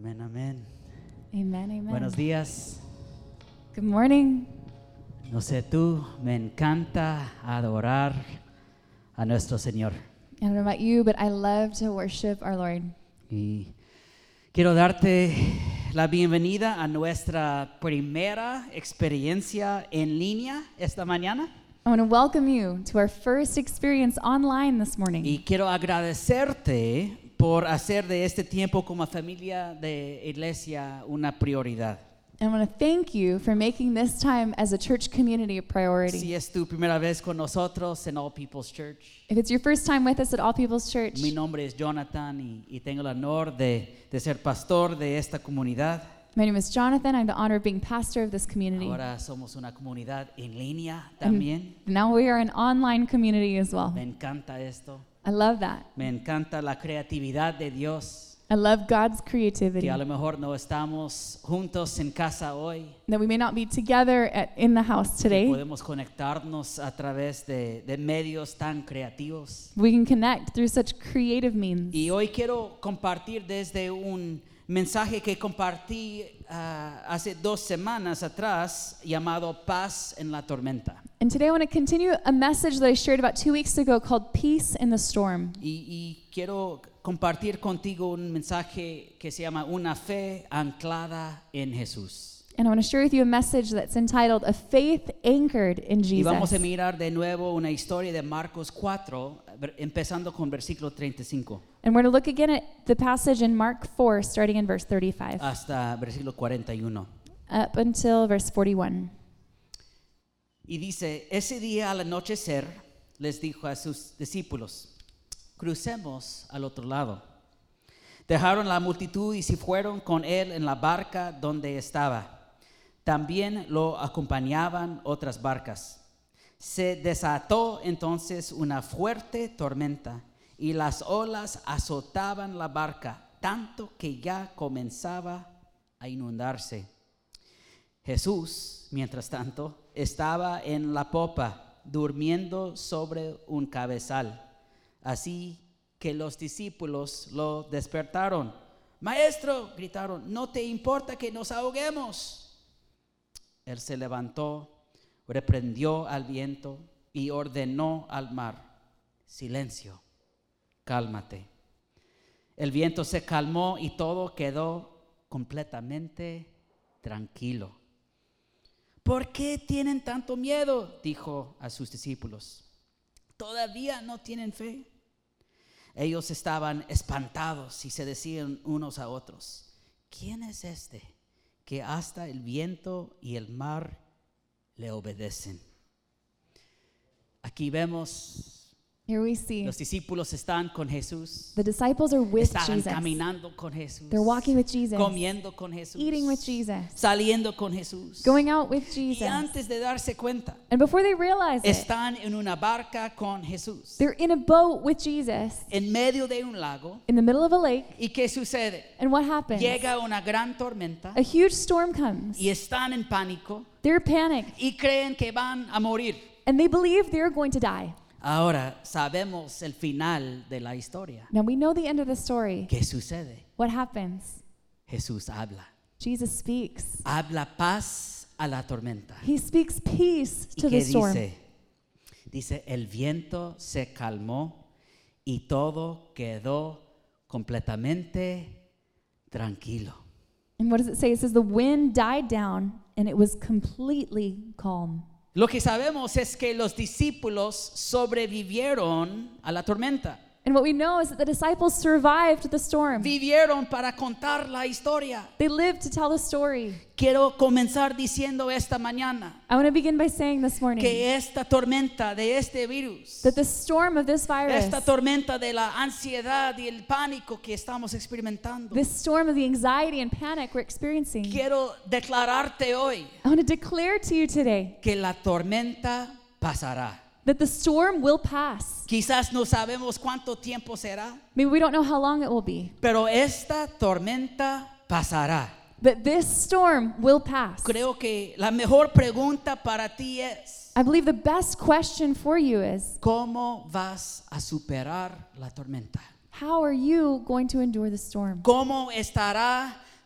Amén, amén. Amen, amen. Buenos días. Good morning. No sé tú, me encanta adorar a nuestro Señor. I don't know about you, but I love to worship our Lord. Y quiero darte la bienvenida a nuestra primera experiencia en línea esta mañana. I want to welcome you to our first experience online this morning. Y quiero agradecerte por hacer de este tiempo como familia de iglesia una prioridad. And I want to thank you for making this time as a church community a priority. Si es tu primera vez con nosotros en All People's Church, If it's your first time with us at All People's Church, mi nombre es Jonathan y tengo el honor de ser pastor de esta comunidad. my name is Jonathan. I have the honor of being pastor of this community. Ahora somos una comunidad en línea And también. now we are an online community as well. Me encanta esto. I love that. Me encanta la creatividad de Dios. I love God's creativity. Que a lo mejor no estamos juntos en casa hoy. That we may not be together in the house Que today. podemos conectarnos a través de medios tan creativos. We can connect through such creative means. Y hoy quiero compartir desde un mensaje que compartí hace 2 semanas atrás llamado Paz en la Tormenta. And today I want to continue a message that I shared about 2 weeks ago called Peace in the Storm. Y quiero compartir contigo un mensaje que se llama Una fe anclada en Jesús. And I want to share with you a message that's entitled A Faith Anchored in Y vamos a Jesus. mirar de nuevo una historia de Marcos 4, empezando con versículo 35 And we're going to look again at the passage in Mark 4, starting in verse 35, hasta versículo 41. up until verse 41. Y dice, ese día al anochecer les dijo a sus discípulos, crucemos al otro lado. Dejaron la multitud y se fueron con él en la barca donde estaba. También lo acompañaban otras barcas. Se desató entonces una fuerte tormenta y las olas azotaban la barca, tanto que ya comenzaba a inundarse. Jesús, mientras tanto, estaba en la popa, durmiendo sobre un cabezal. Así que los discípulos lo despertaron. Maestro, gritaron, ¿no te importa que nos ahoguemos? Él se levantó, reprendió al viento y ordenó al mar, silencio, cálmate. El viento se calmó y todo quedó completamente tranquilo. ¿Por qué tienen tanto miedo?, dijo a sus discípulos. ¿Todavía no tienen fe? Ellos estaban espantados y se decían unos a otros, ¿quién es este que hasta el viento y el mar le obedecen? Aquí vemos, Here we see los discípulos están con Jesús, the disciples are with estaban Jesus. caminando con Jesús, They're walking with Jesus, comiendo con Jesús, eating with Jesus, saliendo con Jesús. going out with Y Jesus. antes de darse cuenta, And before they realize it, están en una barca con Jesús, they're in a boat with Jesus en medio de un lago. in the middle of a lake. ¿Y qué sucede? And what happens? Llega una gran tormenta A huge storm comes. y están en pánico They're panicked. y creen que van a morir. And they believe they're going to die. Ahora sabemos el final de la historia. Now we know the end of the story. ¿Qué sucede? What happens? Jesús habla. Jesus speaks. Habla paz a la tormenta. He speaks peace ¿Y to qué the storm. dice? Dice, el viento se calmó y todo quedó completamente tranquilo. And what does it say? It says the wind died down and it was completely calm. Lo que sabemos es que los discípulos sobrevivieron a la tormenta. And what we know is that the disciples survived the storm. Vivieron para contar la historia. They lived to tell the story. Quiero comenzar diciendo esta mañana I want to begin by saying this morning que esta tormenta de este virus, that the storm of this virus, esta tormenta de la ansiedad y el pánico que estamos experimentando, this storm of the anxiety and panic we're experiencing, quiero declararte hoy I want to declare to you today que la tormenta pasará. that the storm will pass. Quizás no sabemos cuánto tiempo será, Maybe we don't know how long it will be, pero esta tormenta pasará. but this storm will pass. Creo que la mejor pregunta para ti es, I believe the best question for you is, ¿cómo vas a superar la tormenta? how are you going to endure the storm? ¿Cómo estará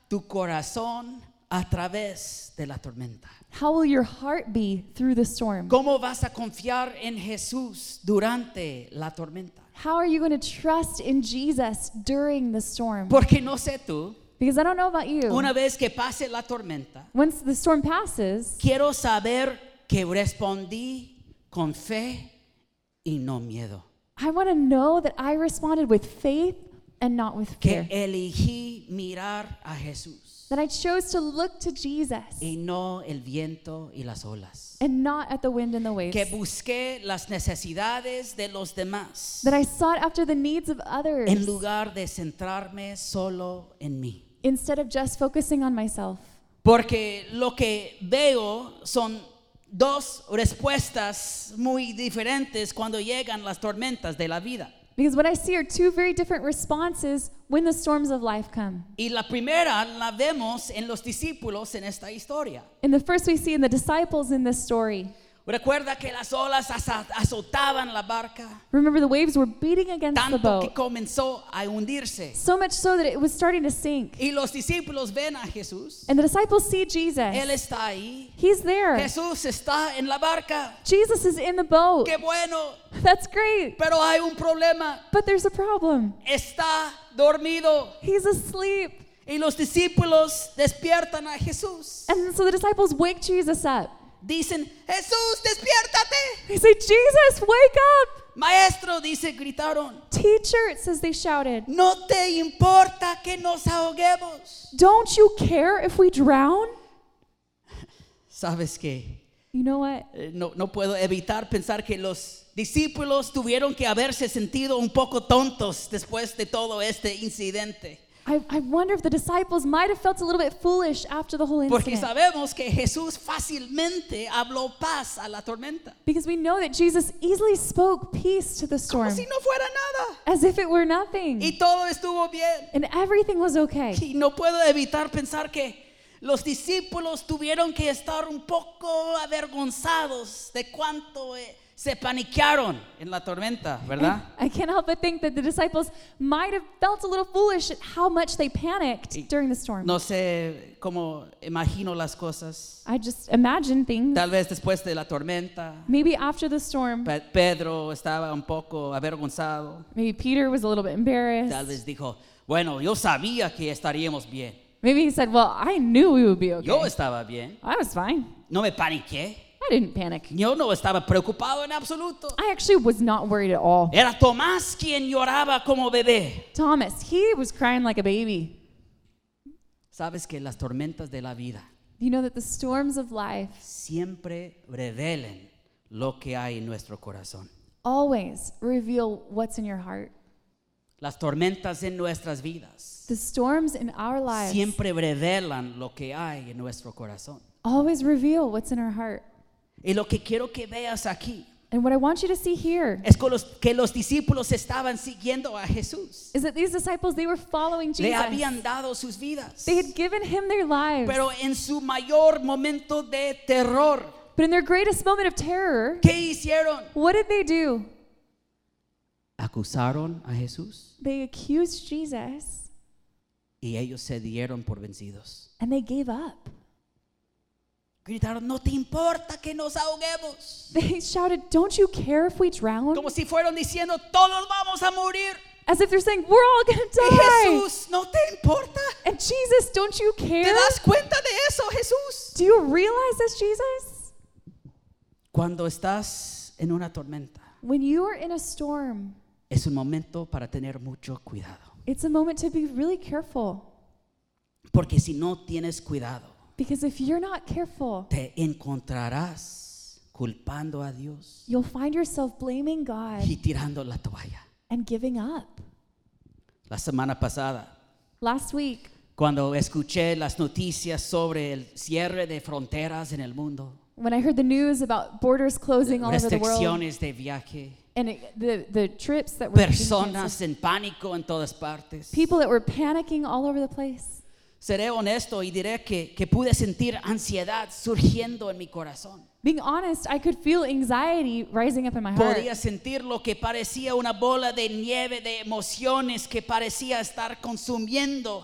tu corazón a través de la tormenta? How will your heart be through the storm? ¿Cómo vas a confiar en Jesús durante la tormenta? How are you going to trust in Jesus during the storm? Porque no sé tú, Because I don't know about you. una vez que pase la tormenta, Once the storm passes, quiero saber que respondí con fe y no miedo. I want to know that I responded with faith and not with Que fear. elegí mirar a Jesús That I chose to look to Jesus y no el viento y las olas. and not at the wind and the waves. Que busqué las necesidades de los demás That I sought after the needs of others en lugar de centrarme solo en mí. instead of just focusing on myself. Porque lo que veo son dos respuestas muy diferentes cuando llegan las tormentas de la vida. Because what I see are two very different responses when the storms of life come. Y la primera la vemos en los discípulos en esta historia. And the first we see in the disciples in this story. Recuerda que las olas azotaban la barca, Remember, the waves were beating against the tanto que boat, comenzó a hundirse. so much so that it was starting to sink. Y los discípulos ven a Jesús. And the disciples see Él Jesus. está ahí. He's there. Jesús está en la barca. Jesus is in the boat. Qué bueno. That's great. Pero hay un problema. But there's a problem. Está dormido. He's asleep. Y los discípulos despiertan a Jesús. And so the disciples wake Jesus up. Dicen, Jesús, despiértate. They say, Jesus, wake up. Maestro, dice, gritaron. Teacher, it says they shouted. No te importa que nos ahoguemos. Don't you care if we drown? ¿Sabes qué? You know what? No puedo evitar pensar que los discípulos tuvieron que haberse sentido un poco tontos después de todo este incidente. I wonder if the disciples might have felt a little bit foolish after the whole Porque incident. sabemos que Jesús fácilmente habló paz a la tormenta. Because we know that Jesus easily spoke peace to the Como storm si no fuera nada. as if it were nothing. Y todo estuvo bien. And everything was okay. Y no puedo evitar pensar que los discípulos tuvieron que estar un poco avergonzados de cuánto se paniquearon en la tormenta, ¿verdad? I can't help but think that the disciples might have felt a little foolish at how much they panicked during the storm. No sé cómo imagino las cosas. I just imagine things. Tal vez después de la tormenta, Maybe after the storm, Pedro estaba un poco avergonzado. maybe Peter was a little bit embarrassed. Tal vez dijo, bueno, yo sabía que estaríamos bien. Maybe he said, well, I knew we would be okay. Yo estaba bien. I was fine. No me paniqué. I didn't panic. Yo no estaba preocupado en absoluto. I actually was not worried at all. Era Tomás quien lloraba como bebé. Thomas, he was crying like a baby. Sabes que las tormentas de la vida You know that the storms of life siempre revelen lo que hay en nuestro corazón. always reveal what's in your heart. Las tormentas en nuestras vidas The storms in our lives siempre revelan lo que hay en nuestro corazón. always reveal what's in our heart. Y lo que quiero que veas aquí And what I want you to see here es que los discípulos estaban siguiendo a Jesús. is that these disciples, they were following Le Jesus. habían dado sus vidas. They had given him their lives. Pero en su mayor momento de terror, But in their greatest moment of terror, ¿qué hicieron? what did they do? Acusaron a Jesús They accused Jesus y ellos se dieron por vencidos. and they gave up. Gritaron, no te importa que nos ahoguemos. They shouted, don't you care if we drown? Como si fueran diciendo, todos vamos a morir. As if they're saying, we're all going to Y die. Jesús, ¿no te importa? And Jesus, don't you ¿Te care? das cuenta de eso, Jesús? Do you realize this, Jesus? Cuando estás en una tormenta, When you are in a storm, es un momento para tener mucho cuidado. it's a moment to be really careful. Porque si no tienes cuidado, Because if you're not careful, te encontrarás culpando a Dios you'll find yourself blaming God y tirando la toalla. and giving up. La semana pasada, Last week, cuando escuché las noticias sobre el cierre de fronteras en el mundo, when I heard the news about borders closing all over the world restricciones de viaje, and the trips that were being canceled, personas en pánico en todas partes. people that were panicking all over the place, Seré honesto y diré que pude sentir ansiedad surgiendo en mi corazón. being honest, I could feel anxiety rising up in my heart. Podía sentir lo que parecía una bola de nieve de emociones que parecía estar consumiendo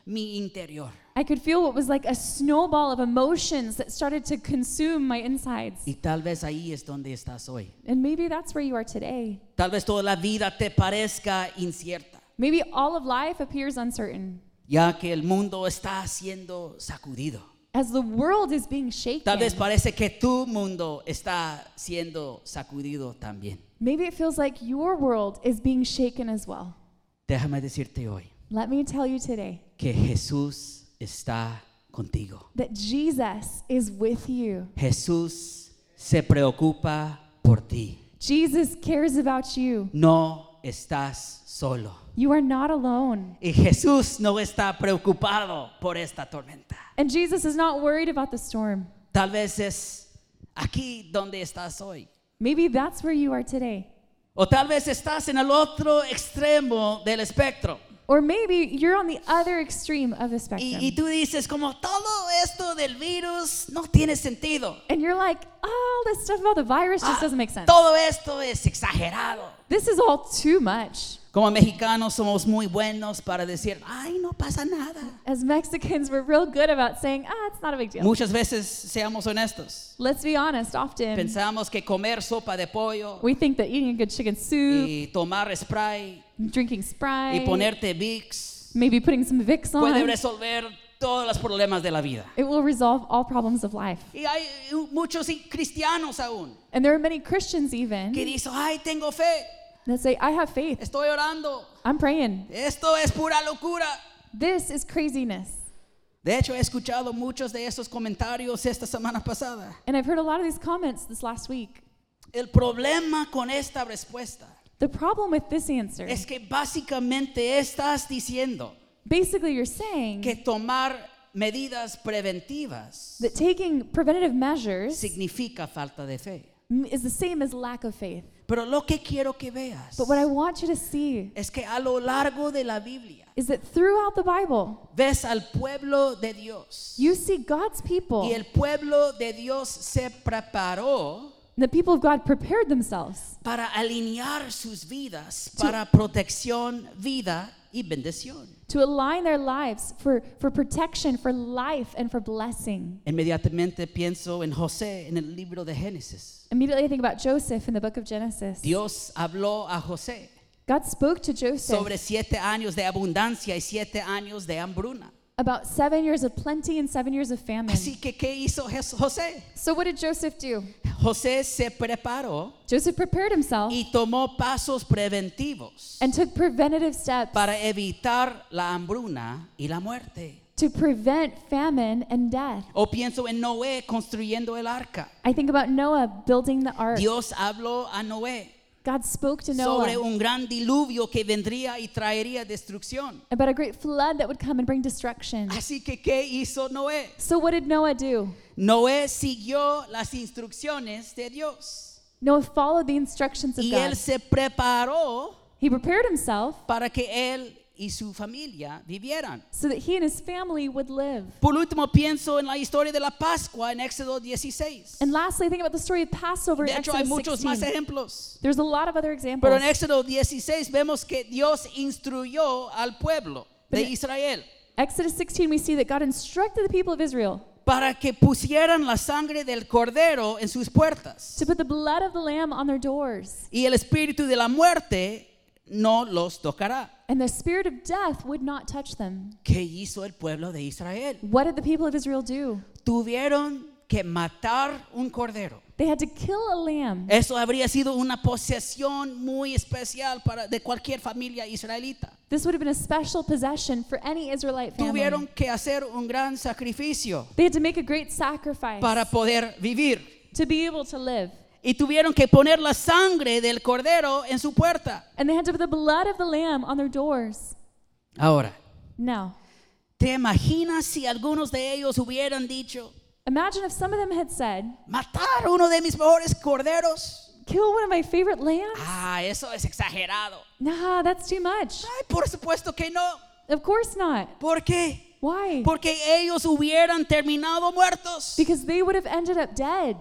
mi interior. I could feel what was like a snowball of emotions that started to consume my insides. Y tal vez ahí es donde estás hoy. And maybe that's where you are today. Tal vez toda la vida te parezca incierta, Maybe all of life appears uncertain ya que el mundo está siendo sacudido. as the world is being shaken. Tal vez parece que tu mundo está siendo sacudido también. Maybe it feels like your world is being shaken as well. Déjame decirte hoy Let me tell you today que Jesús está contigo. that Jesus is with you. Jesús se preocupa por ti. Jesus cares about you. No estás solo. You are not alone. Y Jesús no está preocupado por esta tormenta. And Jesus is not worried about the storm. Tal vez es aquí donde estás hoy. Maybe that's where you are today. O tal vez estás en el otro extremo del espectro. Or maybe you're on the other extreme of the spectrum. Y tú dices como todo esto del virus no tiene sentido. And you're like, all this stuff about the virus just doesn't make sense. Todo esto es exagerado. This is all too much. Como mexicanos somos muy buenos para decir, ay, no pasa nada. As Mexicans, we're real good about saying, it's not a big deal. Muchas veces, seamos honestos, Let's be honest, often pensamos que comer sopa de pollo we think that eating a good chicken soup, y tomar spray drinking y Sprite, ponerte Vicks maybe putting some Vicks puede on, resolver todos los problemas de la vida. it will resolve all problems of life. Y hay muchos cristianos aún And there are many Christians even que dicen, ay, tengo fe, that say, I have faith, estoy orando, I'm praying. esto es pura locura. This is craziness. De hecho, he escuchado muchos de esos comentarios esta semana pasada. And I've heard a lot of these comments this last week. El problema con esta respuesta The problem with this answer, es que básicamente estás diciendo basically you're saying que tomar medidas preventivas that taking preventative measures significa falta de fe. is the same as lack of faith. Pero lo que quiero que veas But what I want you to see es que a lo largo de la Biblia is that throughout the Bible, ves al pueblo de Dios you see God's people, y el pueblo de Dios se preparó the people of God prepared themselves para alinear sus vidas para protección, vida y bendición. to align their lives for protection, for life, and for blessing. Inmediatamente pienso en José en el libro de Génesis. Immediately I think about Joseph in the book of Genesis. Dios habló a José God spoke to Joseph sobre 7 años de abundancia y 7 años de hambruna. about 7 years of plenty and 7 years of famine. Así que, ¿qué hizo José? So what did Joseph do? José se preparó Joseph prepared himself y tomó pasos preventivos and took preventative steps para evitar la hambruna y la muerte. to prevent famine and death. O pienso en Noé construyendo el arca. I think about Noah building the ark. Dios habló a Noé God spoke to sobre Noah un gran diluvio que vendría y traería destrucción. about a great flood that would come and bring destruction. Así que, ¿qué hizo Noé? So what did Noah do? Noé siguió las instrucciones de Dios Noah followed the instructions of y God. él se preparó He prepared himself para que él y su familia vivieran. so that he and his family would live. Por último, pienso en la historia de la Pascua en Éxodo 16. And lastly, think about the story of Passover De in hecho, hay Exodus muchos más 16. ejemplos. There's a lot of other examples. Pero en Éxodo 16 vemos que Dios instruyó al pueblo de Israel Exodus 16, we see that God instructed the people of Israel para que pusieran la sangre del cordero en sus puertas to put the blood of the lamb on their doors, y el espíritu de la muerte no los tocará. and the spirit of death would not touch them. ¿Qué hizo el pueblo de Israel? What did the people of Israel do? Tuvieron que matar un cordero. They had to kill a lamb. Eso habría sido una posesión muy especial de cualquier familia israelita. This would have been a special possession for any Israelite family. Tuvieron que hacer un gran sacrificio They had to make a great sacrifice para poder vivir. to be able to live. Y tuvieron que poner la sangre del cordero en su puerta. And they had to put the blood of the lamb on their doors. Ahora, Now, ¿te imaginas si algunos de ellos hubieran dicho, imagine if some of them had said, matar uno de mis mejores corderos? kill one of my favorite lambs? Ah, eso es exagerado. Nah, that's too much. Ay, por supuesto que no. Of course not. ¿Por qué? Why? Porque ellos hubieran terminado muertos. Because they would have ended up dead.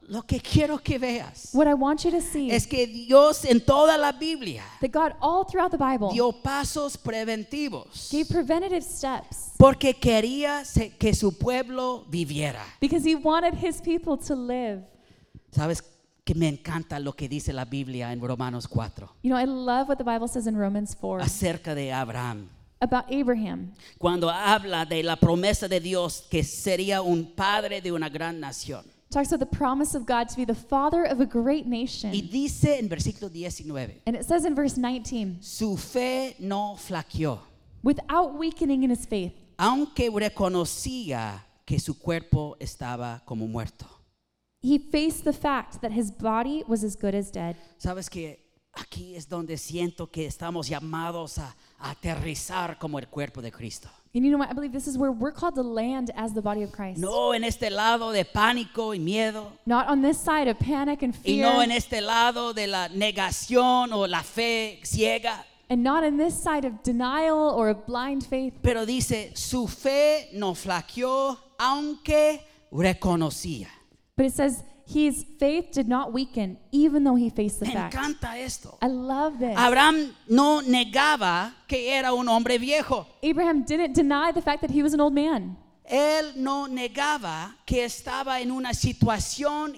lo que quiero que veas What I want you to see es que Dios en toda la Biblia that God all throughout the Bible dio pasos preventivos gave preventative steps porque quería que su pueblo viviera. because he wanted his people to live. ¿Sabes que me encanta lo que dice la Biblia en Romanos 4 You know, I love what the Bible says in Romans 4 acerca de Abraham? about Abraham. Cuando habla de la promesa de Dios que sería un padre de una gran nación. Talks about the promise of God to be the father of a great nation. Y dice en versículo 19, And it says in verse 19, su fe no flaqueó, without weakening in his faith, aunque reconocía que su cuerpo estaba como muerto. he faced the fact that his body was as good as dead. Sabes que aquí es donde siento que estamos llamados a aterrizar como el cuerpo de Cristo. And you know what? I believe this is where we're called to land as the body of Christ. No en este lado de pánico y miedo, Not on this side of panic and y fear, no en este lado de la negación o la fe ciega, and not on this side of denial or of blind faith. pero dice, su fe no flaqueó aunque reconocía. But it says his faith did not weaken even though he faced the Me fact. encanta esto. I love this. Abraham no negaba que era un hombre viejo. Abraham didn't deny the fact that he was an old man. Él no negaba que estaba en una situación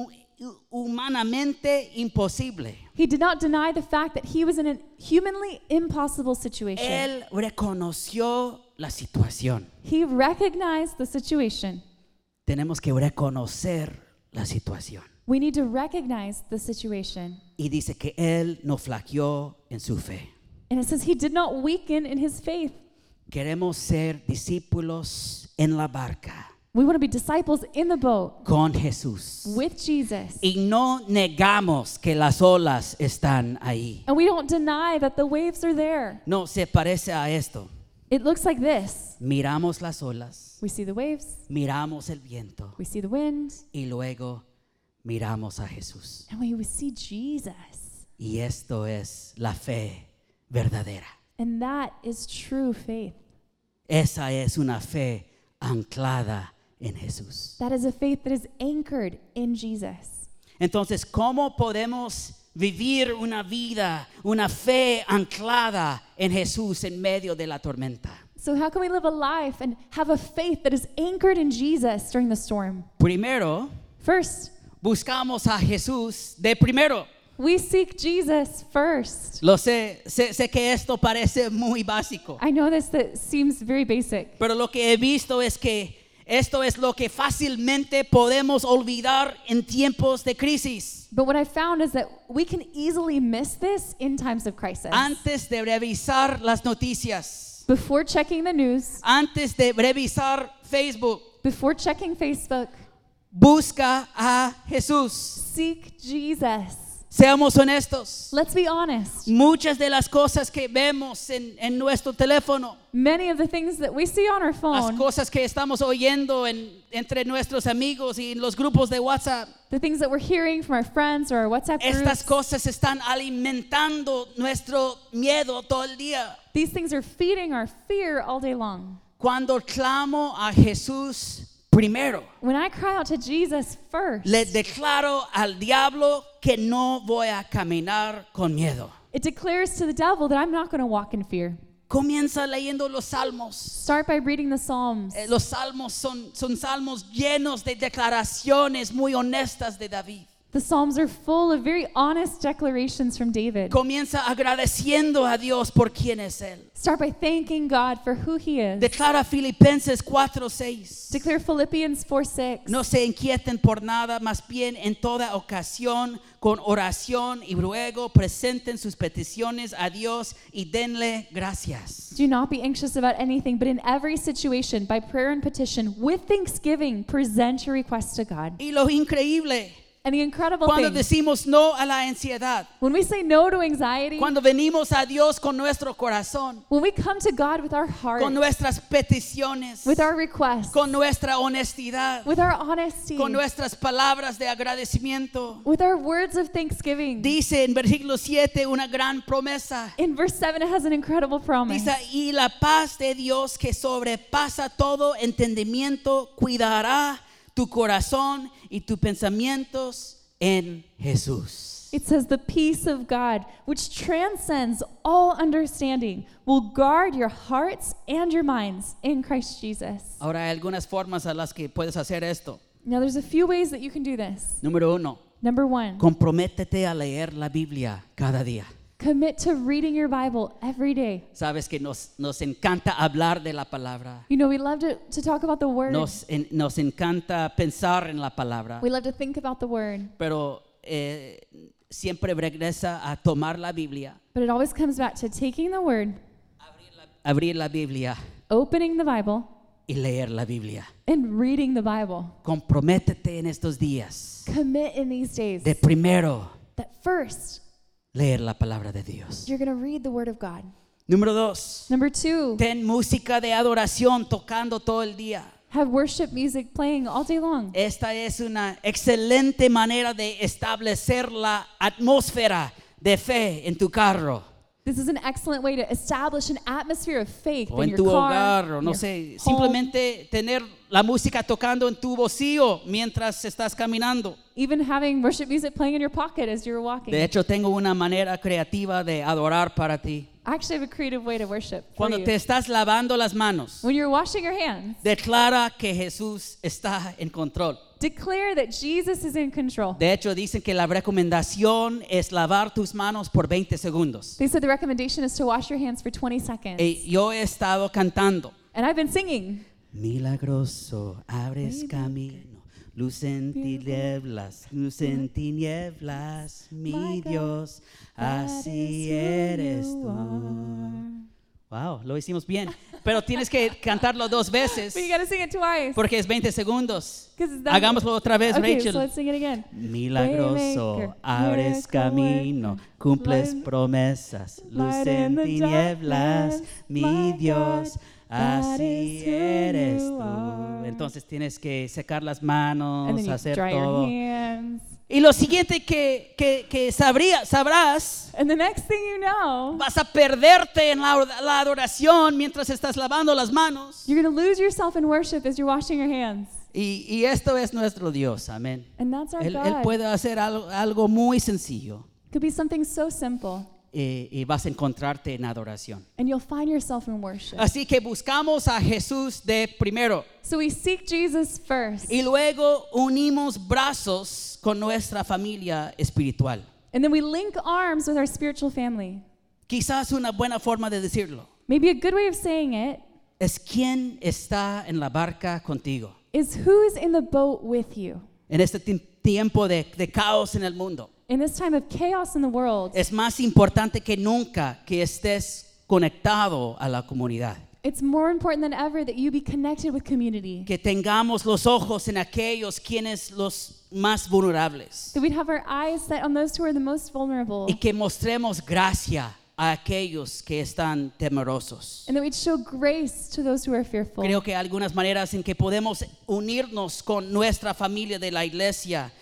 humanamente imposible. He did not deny the fact that he was in a humanly impossible situation. Él reconoció la situación. He recognized the situation. Tenemos que reconocer la situación. We need to recognize the situation. Y dice que él no flaqueó en su fe. And it says he did not weaken in his faith. Queremos ser discípulos en la barca We want to be disciples in the boat con Jesús. with Jesus. Y no negamos que las olas están ahí. And we don't deny that the waves are there. No, se parece a esto. It looks like this. Miramos las olas, We see the waves, miramos el viento we see the wind, y luego miramos a Jesús. and we see Jesus. Y esto es la fe verdadera. And that is true faith. Esa es una fe anclada en Jesús. That is a faith that is anchored in Jesus. Entonces, ¿cómo podemos vivir una vida, una fe anclada en Jesús en medio de la tormenta? So how can we live a life and have a faith that is anchored in Jesus during the storm? Primero, First, buscamos a Jesús de primero. we seek Jesus first. Lo sé que esto parece muy básico, I know that seems very basic, pero lo que he visto es que esto es lo que fácilmente podemos olvidar en tiempos de crisis. but what I found is that we can easily miss this in times of crisis. Antes de revisar las noticias, Before checking the news, antes de revisar Facebook, before checking Facebook, busca a Jesús. seek Jesus. Seamos honestos. Let's be honest. Muchas de las cosas que vemos en nuestro teléfono, Many of the things that we see on our las phone, cosas que estamos oyendo entre nuestros amigos y en los grupos de WhatsApp, the things that we're hearing from our friends or our WhatsApp estas groups, cosas están alimentando nuestro miedo todo el día. these things are feeding our fear all day long. Cuando clamo a Jesús primero, When I cry out to Jesus first, le declaro al diablo que no voy a caminar con miedo. it declares to the devil that I'm not going to walk in fear. Comienza leyendo los salmos. Start by reading the Psalms. Los salmos son salmos llenos de declaraciones muy honestas de David. The Psalms are full of very honest declarations from David. Comienza agradeciendo a Dios por quién es Él. Start by thanking God for who He is. Declara Filipenses 4:6. Declare Philippians 4:6. No se inquieten por nada, más bien en toda ocasión, con oración y ruego, presenten sus peticiones a Dios y denle gracias. Do not be anxious about anything, but in every situation, by prayer and petition, with thanksgiving, present your requests to God. Y lo increíble, And the incredible cuando thing, decimos no a la ansiedad, when we say no to anxiety, cuando venimos a Dios con nuestro corazón, when we come to God with our heart, con nuestras peticiones, with our requests, con nuestra honestidad, with our honesty, con nuestras palabras de agradecimiento. with our words of thanksgiving. Dice en versículo 7 una gran promesa. In verse 7, it has an incredible promise. Dice, y la paz de Dios que sobrepasa todo entendimiento cuidará tu corazón y tus pensamientos en Jesús. It says the peace of God, which transcends all understanding, will guard your hearts and your minds in Christ Jesus. Ahora hay algunas formas a las que puedes hacer esto. Now there's a few ways that you can do this. Número 1, Number 1, comprométete a leer la Biblia cada día. commit to reading your Bible every day. Sabes que nos encanta hablar de la palabra. You know, we love to talk about the Word. Nos encanta pensar en la palabra. We love to think about the Word. Pero siempre regresa a tomar la Biblia, But it always comes back to taking the Word, abrir la Biblia opening the Bible, y leer la Biblia. and reading the Bible. Comprométete en estos días Commit in these days de primero that first leer la palabra de Dios. you're going to read the Word of God. Número 2, Number 2, ten música de adoración tocando todo el día. have worship music playing all day long. Esta es una excelente manera de establecer la atmósfera de fe en tu carro This is an excellent way to establish an atmosphere of faith o in en your tu car, hogar, o in no your sé, home. simplemente tener la música tocando en tu bolsillo mientras estás caminando. Even having worship music playing in your pocket as you're walking. De hecho, tengo una manera creativa de adorar para ti. I actually have a creative way to worship for Cuando you. te estás lavando las manos, When you're washing your hands, declara que Jesús está en control. declare that Jesus is in control. De hecho, dicen que la recomendación es lavar tus manos por 20 segundos. They said the recommendation is to wash your hands for 20 seconds. Yo he estado cantando. And I've been singing. Milagroso, abres camino, luz en tinieblas, mi Dios, así eres tú. Wow, lo hicimos bien. Pero tienes que cantarlo 2 veces But you got to sing it twice. porque es 20 segundos. 'Cause that- Hagámoslo otra vez, Okay, Rachel. so let's sing it again. Milagroso, Waymaker, abres miracle camino, worker, cumples light- promesas, luz light en in the tinieblas, darkness, mi my Dios, God, así that is who eres you tú. are. Entonces tienes que secar las And manos, then you hacer dry todo. your hands. Y lo siguiente que sabrás, And the next thing you know, vas a perderte en la adoración mientras estás lavando las manos. you're going to lose yourself in worship as you're washing your hands. Y esto es nuestro Dios, amén. And that's our Él God. puede hacer algo muy sencillo. Could be something so simple, Y vas a encontrarte en adoración. and you'll find yourself in worship. Así que buscamos a Jesús de primero So we seek Jesus first, y luego unimos brazos con nuestra familia espiritual. and then we link arms with our spiritual family. Quizás una buena forma de decirlo Maybe a good way of saying it es quién está en la barca contigo is who's in the boat with you. en este tiempo de caos en el mundo. In this time of chaos in the world, Es más importante que nunca que estés conectado a la comunidad. it's more important than ever that you be connected with community. Que tengamos los ojos en aquellos quienes los más vulnerables. That we'd have our eyes set on those who are the most vulnerable. Y que mostremos gracia a aquellos que están temerosos. And that we'd show grace to those who are fearful. Creo que hay algunas maneras en que podemos unirnos con nuestra familia de la iglesia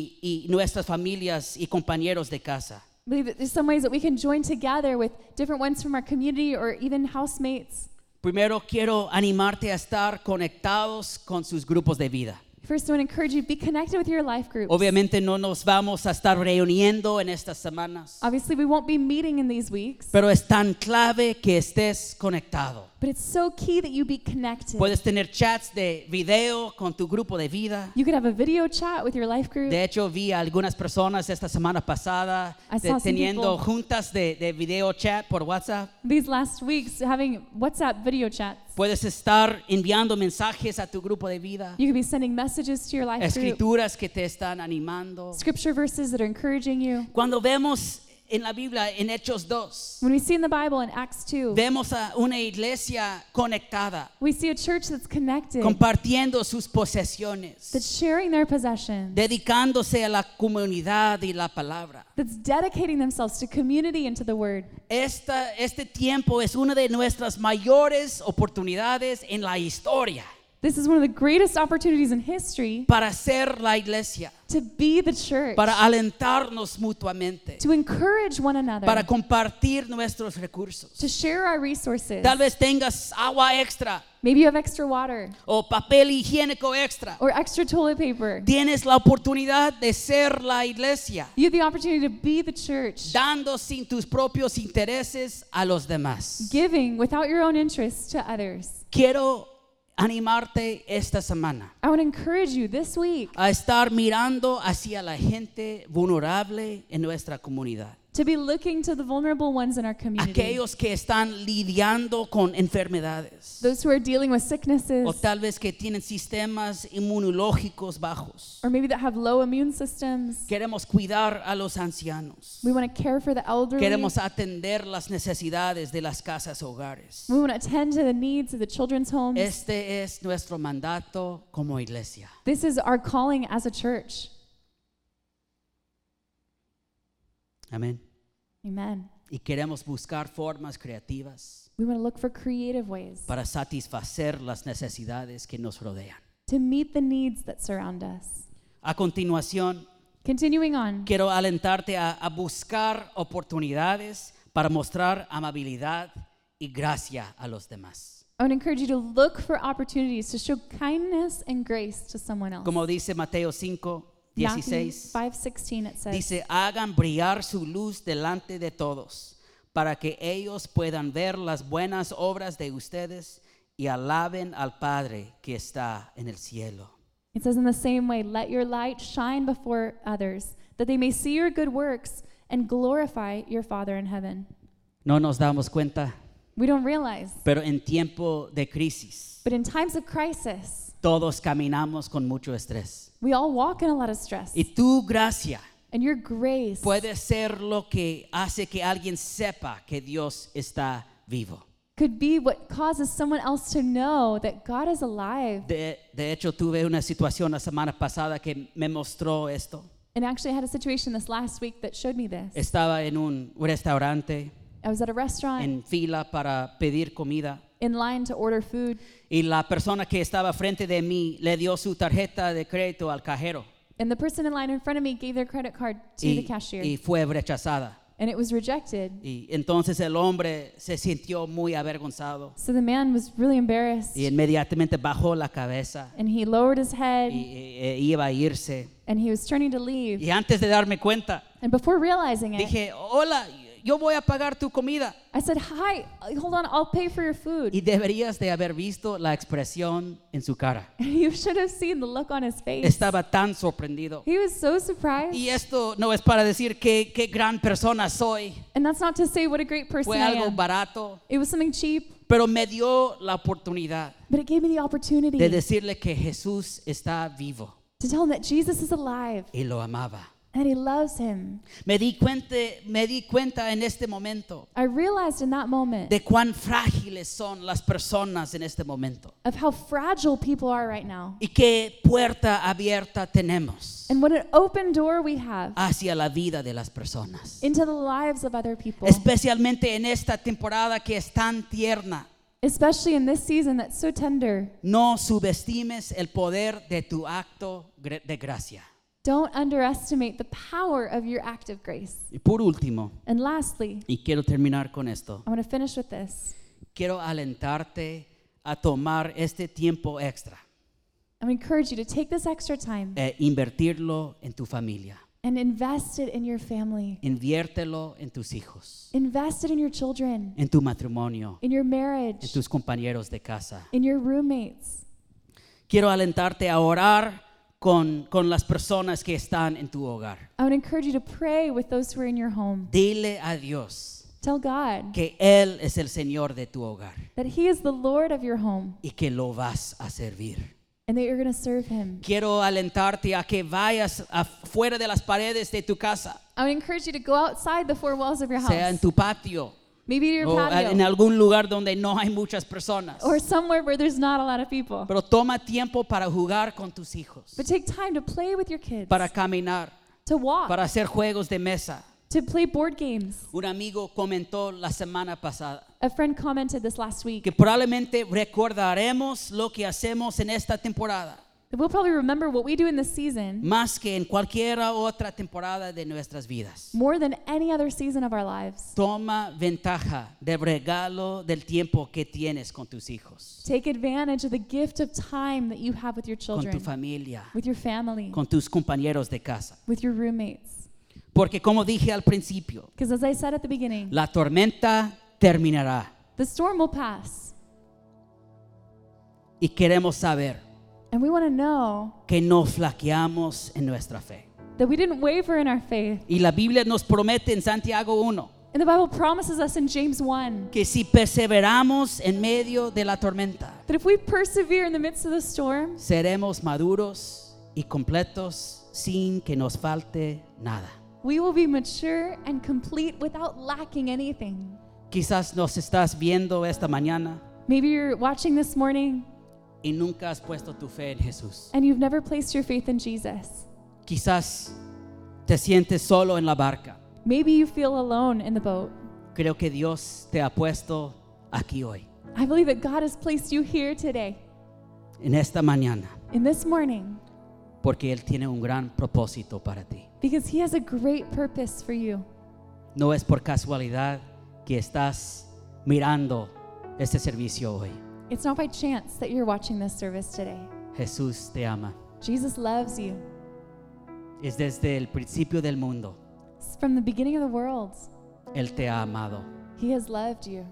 y nuestras familias y compañeros de casa. I believe that there's some ways that we can join together with different ones from our community or even housemates. Primero quiero animarte a estar conectados con sus grupos de vida. First, I want to encourage you, be connected with your life groups. Obviamente no nos vamos a estar reuniendo en estas semanas, Obviously, we won't be meeting in these weeks, pero es tan clave que estés conectado. but it's so key that you be connected. Puedes tener chats de video con tu grupo de vida. You could have a video chat with your life group. De hecho, vi a algunas personas esta semana pasada I saw some teniendo people- juntas de video chat por WhatsApp. These last weeks, having WhatsApp video chats. Puedes estar enviando mensajes a tu grupo de vida, You could be sending messages to your life group, escrituras que te están animando. scripture verses that are encouraging you. Cuando vemos en la Biblia, en Hechos 2, When we see in the Bible in Acts 2, vemos a una iglesia conectada, we see a church that's connected, compartiendo sus posesiones, that's sharing their possessions, dedicándose a la comunidad y la palabra. that's dedicating themselves to community and to the word. Este tiempo es una de nuestras mayores oportunidades en la historia This is one of the greatest opportunities in history para ser la iglesia, to be the church, para alentarnos mutuamente, to encourage one another, para compartir nuestros recursos. to share our resources. Tal vez tengas agua extra Maybe you have extra water o papel higiénico extra. or extra toilet paper. Tienes la oportunidad de ser la iglesia, You have the opportunity to be the church, dando sin tus propios intereses a los demás. giving without your own interests to others. Quiero animarte esta semana I want to encourage you this week a estar mirando hacia la gente vulnerable en nuestra comunidad. to be looking to the vulnerable ones in our community. Aquellos que están lidiando con enfermedades Those who are dealing with sicknesses, o tal vez que tienen sistemas inmunológicos bajos. or maybe that have low immune systems. Queremos cuidar a los ancianos. We want to care for the elderly. Queremos atender las necesidades de las casas hogares. We want to attend to the needs of the children's homes. Este es nuestro mandato como iglesia. This is our calling as a church. Amén. Amen. Y queremos buscar formas creativas We want to look for creative ways para satisfacer las necesidades que nos rodean. to meet the needs that surround us. A continuación, Continuing on, quiero alentarte a buscar oportunidades para mostrar amabilidad y gracia a los demás. I want to encourage you to look for opportunities to show kindness and grace to someone else. Como dice Mateo 5, Matthew 16, 5:16 it says, dice, hagan brillar su luz delante de todos, para que ellos puedan ver las buenas obras de ustedes y alaben al Padre que está en el cielo. it says in the same way, let your light shine before others, that they may see your good works and glorify your Father in heaven. No nos damos cuenta, We don't realize, pero en tiempo de crisis, but in times of crisis, todos caminamos con mucho estrés. we all walk in a lot of stress. Y tu gracia And your grace puede ser lo que hace que alguien sepa que Dios está vivo. could be what causes someone else to know that God is alive. De hecho, tuve una situación la semana pasada que me mostró esto. And actually, I had a situation this last week that showed me this. Estaba en un restaurante I was at a restaurant en fila para pedir comida in line to order food, y la persona que estaba frente de mí le dio su tarjeta de crédito al cajero and the person in line in front of me gave their credit card to the cashier, y fue rechazada. and it was rejected. Y entonces el hombre se sintió muy avergonzado So the man was really embarrassed, y inmediatamente bajó la cabeza and he lowered his head, iba a irse. and he was turning to leave. Y antes de darme cuenta, And before realizing it, dije, hola, yo voy a pagar tu comida. I said, hi, hold on, I'll pay for your food. Y deberías de haber visto la expresión en su cara. You should have seen the look on his face. Estaba tan sorprendido. He was so surprised. Y esto no es para decir qué gran persona soy. And that's not to say what a great person Fue I algo am. barato, It was something cheap, pero me dio la oportunidad but it gave me the opportunity de decirle que Jesús está vivo to tell him that Jesus is alive y lo amaba. and he loves him. Me di cuenta en este momento I realized in that moment de cuán frágiles son las personas en este momento of how fragile people are right now y qué puerta abierta tenemos and what an open door we have hacia la vida de las personas, into the lives of other people, especialmente en esta temporada que es tan tierna. especially in this season that's so tender. No subestimes el poder de tu acto de gracia. Don't underestimate the power of your act of grace. Y por último, And lastly, y quiero terminar con esto, I want to finish with this. quiero alentarte a tomar este tiempo extra I want to encourage you to take this extra time e invertirlo en tu familia. and invest it in your family. Inviértelo en tus hijos, Invest it in your children, en tu matrimonio, in your en marriage, tus compañeros de casa. in your roommates. Quiero alentarte a orar con las personas que están en tu hogar. I want to encourage you to pray with those who are in your home. Dile a Dios Tell God que Él es el Señor de tu hogar that He is the Lord of your home y que lo vas a servir. and that you're going to serve Him. Quiero alentarte a que vayas afuera de las paredes de tu casa, I would encourage you to go outside the four walls of your sea en house, tu patio maybe to your o en patio, algún lugar donde no hay muchas personas. or somewhere where there's not a lot of people. Pero toma tiempo para jugar con tus hijos, But take time to play with your kids, para caminar, to walk, para hacer juegos de mesa. to play board games. Un amigo comentó la semana pasada A friend commented this last week que probablemente recordaremos lo que hacemos en esta temporada, that we'll probably remember what we do in this season más que en cualquier otra temporada de nuestras vidas. more than any other season of our lives. Toma ventaja del regalo del tiempo que tienes con tus hijos, Take advantage of the gift of time that you have with your con children, tu familia, with your family, con tus compañeros de casa. with your roommates. Porque como dije al principio, Because as I said at the beginning, la tormenta terminará the storm will pass. y queremos saber And we want to know que no flaqueamos en nuestra fe. that we didn't waver in our faith. Y la Biblia nos promete en Santiago 1 And the Bible promises us in James 1 que si perseveramos en medio de la tormenta, that if we persevere in the midst of the storm, seremos maduros y completos sin que nos falte nada. we will be mature and complete without lacking anything. Quizás nos estás viendo esta mañana Maybe you're watching this morning y nunca has puesto tu fe en Jesús. and you've never placed your faith in Jesus. Quizás te sientes solo en la barca. Maybe you feel alone in the boat. Creo que Dios te ha puesto aquí hoy, I believe that God has placed you here today, en esta mañana, in this morning, porque Él tiene un gran propósito para ti. because He has a great purpose for you. No es por casualidad que estás mirando este servicio hoy. It's not by chance that you're watching this service today. Jesús te ama. Jesus loves you. Es desde el principio del mundo. It's from the beginning of the world. Él te ha amado. He has loved you.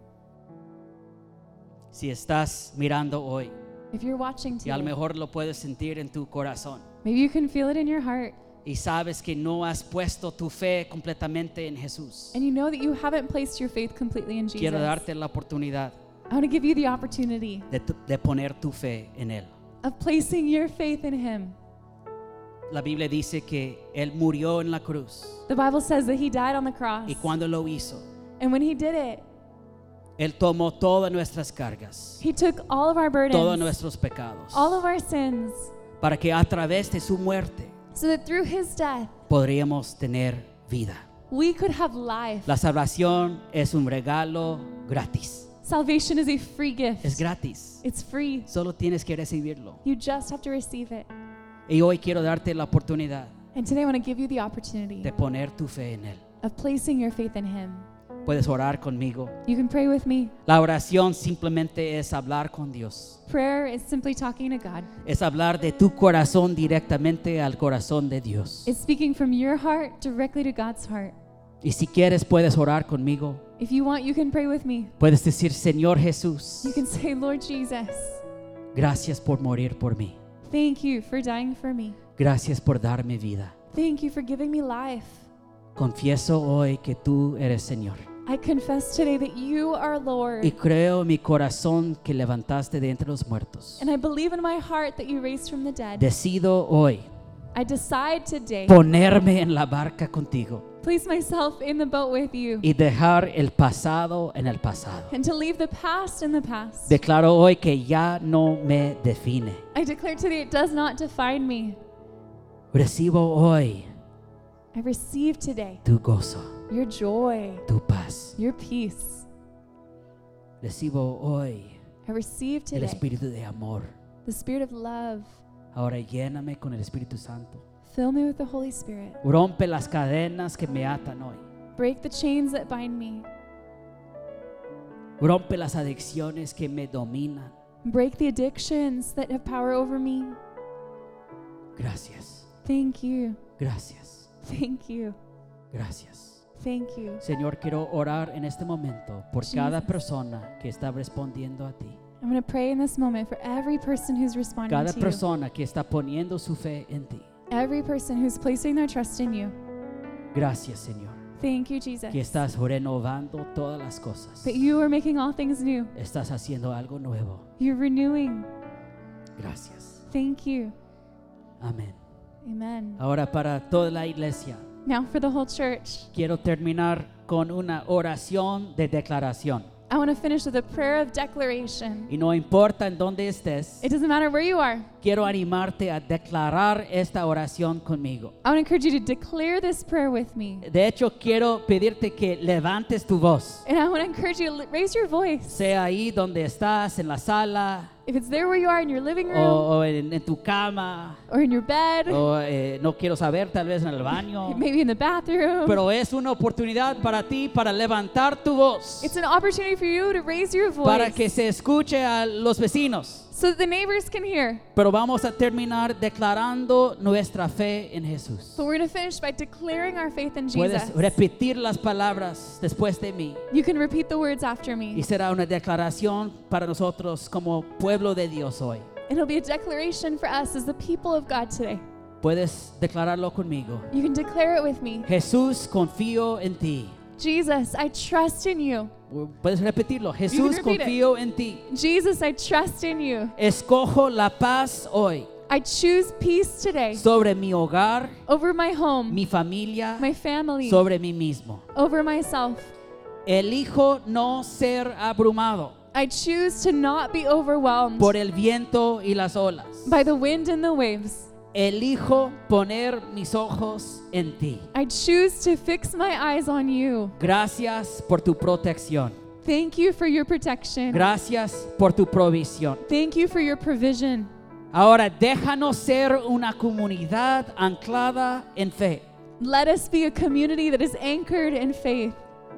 Si estás mirando hoy, If you're watching y a lo today, mejor lo puedes sentir en tu corazón, maybe you can feel it in your heart, y sabes que no has puesto tu fe completamente en Jesús, and you know that you haven't placed your faith completely in Jesus. quiero darte la oportunidad I want to give you the opportunity de poner tu fe en Él. of placing your faith in Him. La Biblia dice que Él murió en la cruz, The Bible says that He died on the cross, y cuando lo hizo, and when He did it, Él tomó todas nuestras cargas, He took all of our burdens, todos nuestros pecados, all of our sins, para que a través de su muerte so that through His death, podríamos tener vida. we could have life. La salvación es un regalo gratis. Salvation is a free gift. Es gratis. It's free. Solo tienes que recibirlo. You just have to receive it. Y hoy quiero darte la oportunidad And today I want to give you the opportunity de poner tu fe en Él. of placing your faith in Him. Puedes orar conmigo. You can pray with me. La oración simplemente es hablar con Dios. Prayer is simply talking to God. Es hablar de tu corazón directamente al corazón de Dios. It's speaking from your heart directly to God's heart. Y si quieres puedes orar conmigo. If you want, you can pray with me. Puedes decir, Señor Jesús, You can say, Lord Jesus, gracias por morir por mí. thank you for dying for me. Gracias por darme vida. Thank you for giving me life. Confieso hoy que tú eres Señor. I confess today that you are Lord. Y creo en mi corazón que levantaste de entre los muertos. And I believe in my heart that you raised from the dead. Decido hoy I decide today ponerme en la barca contigo place myself in the boat with you y dejar el pasado en el pasado. and to leave the past in the past. Declaro hoy que ya no me define. I declare today it does not define me. Recibo hoy I receive today tu gozo, your joy, tu paz. your peace. Recibo hoy I receive el today espíritu de amor. the spirit of love. Ahora lléname con el Espíritu Santo. Fill me with the Holy Spirit. Rompe las cadenas que me atan hoy. Break the chains that bind me. Rompe las adicciones que me dominan. Break the addictions that have power over me. Gracias, Thank you. gracias, Thank you. gracias. Thank you. Señor, quiero orar en este momento por cada Jesus. persona que está respondiendo a ti. I'm going to pray in this moment for every person who's responding Cada to you. persona que está poniendo su fe en ti. Every person who's placing their trust in you. Gracias, Señor, Thank you, Jesus. que estás renovando todas las cosas. That you are making all things new. Estás haciendo algo nuevo. You're renewing. Gracias. Thank you. Amén. Amen. Ahora para toda la iglesia, Now for the whole church, quiero terminar con una oración de declaración. I want to finish with a prayer of declaration. Y no importa en dónde estés, It doesn't matter where you are. quiero animarte a declarar esta oración conmigo. I want to encourage you to declare this prayer with me. De hecho, quiero pedirte que levantes tu voz. And I want to encourage you to raise your voice. Sea ahí donde estás, en la sala, If it's there where you are in your living room o en tu cama, or in your bed, o no quiero saber, tal vez en el baño. maybe in the bathroom, Pero es una oportunidad para ti para levantar tu voz, it's an opportunity for you to raise your para voice que se escuche a los vecinos. so that the neighbors can hear. Pero vamos a terminar declarando nuestra fe en Jesús. But we're going to finish by declaring our faith in Puedes Jesus. repetir las palabras después de mí You can repeat the words after y me. será una declaración para nosotros como pueblo de Dios hoy. It'll be a declaration for us as the people of God today. Puedes declararlo conmigo. You can declare it with me. Jesús, confío en ti. Jesus, I trust in you. Puedes repetirlo. Jesús, repeat it. confío en ti. Jesus, I trust in you. Escojo la paz hoy I choose peace today sobre mi hogar, over my home, mi familia, my family, sobre mí mismo. over myself. Elijo no ser abrumado I choose to not be overwhelmed por el viento y las olas. by the wind and the waves. Elijo poner mis ojos en ti. I choose to fix my eyes on you. Gracias por tu protección. Thank you for your protection. Gracias por tu provisión. Thank you for your provision. Ahora déjanos ser una comunidad anclada en fe. Let us be a community that is anchored in faith.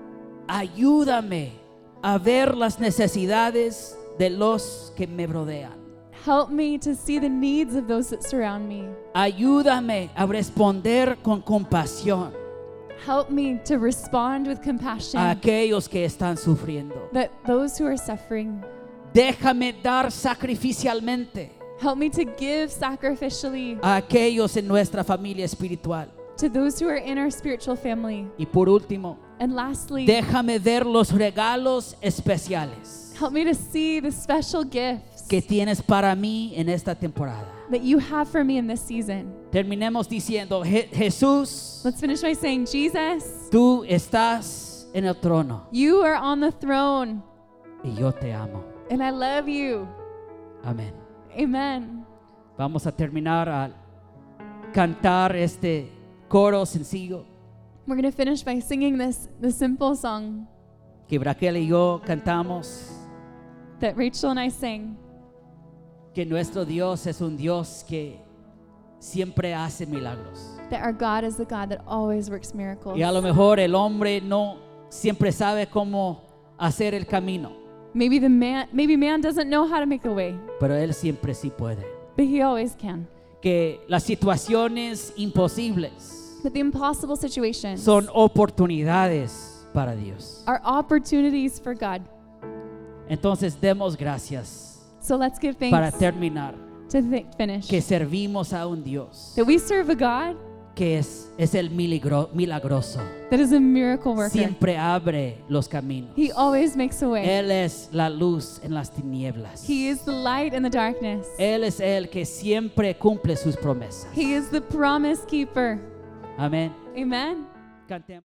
Ayúdame a ver las necesidades de los que me rodean. Help me to see the needs of those that surround me. Ayúdame a responder con compasión Help me to respond with compassion a aquellos que están sufriendo. that those who are suffering. Déjame dar sacrificialmente Help me to give sacrificially a aquellos en nuestra familia espiritual. to those who are in our spiritual family. Y por último, And lastly, déjame ver los regalos especiales help me to see the special gifts que tienes para mí en esta temporada. that you have for me in this season. Terminemos diciendo, Jesús, Let's finish by saying, Jesus, tú estás en el trono you are on the throne, y yo te amo. and I love you. Amén. Amen. Vamos a terminar a cantar este coro sencillo We're going to finish by singing this simple song que Raquel y yo cantamos, that Rachel and I sang. que nuestro Dios es un Dios que siempre hace milagros. That our God is the God that always works miracles. Y a lo mejor el hombre no siempre sabe cómo hacer el camino, Maybe man doesn't know how to make a way, pero Él siempre sí puede. but he always can. Que las situaciones imposibles But the impossible situations son oportunidades para Dios. are opportunities for God. Entonces demos gracias So let's give para thanks terminar, to finish. que servimos a un Dios That we serve a God que es el milagroso. that is a miracle worker. Siempre abre los caminos. He always makes a way. Él es la luz en las tinieblas. He is the light in the darkness. Él es el que siempre cumple sus promesas. He is the promise keeper. Amén. Amen. Cantemos.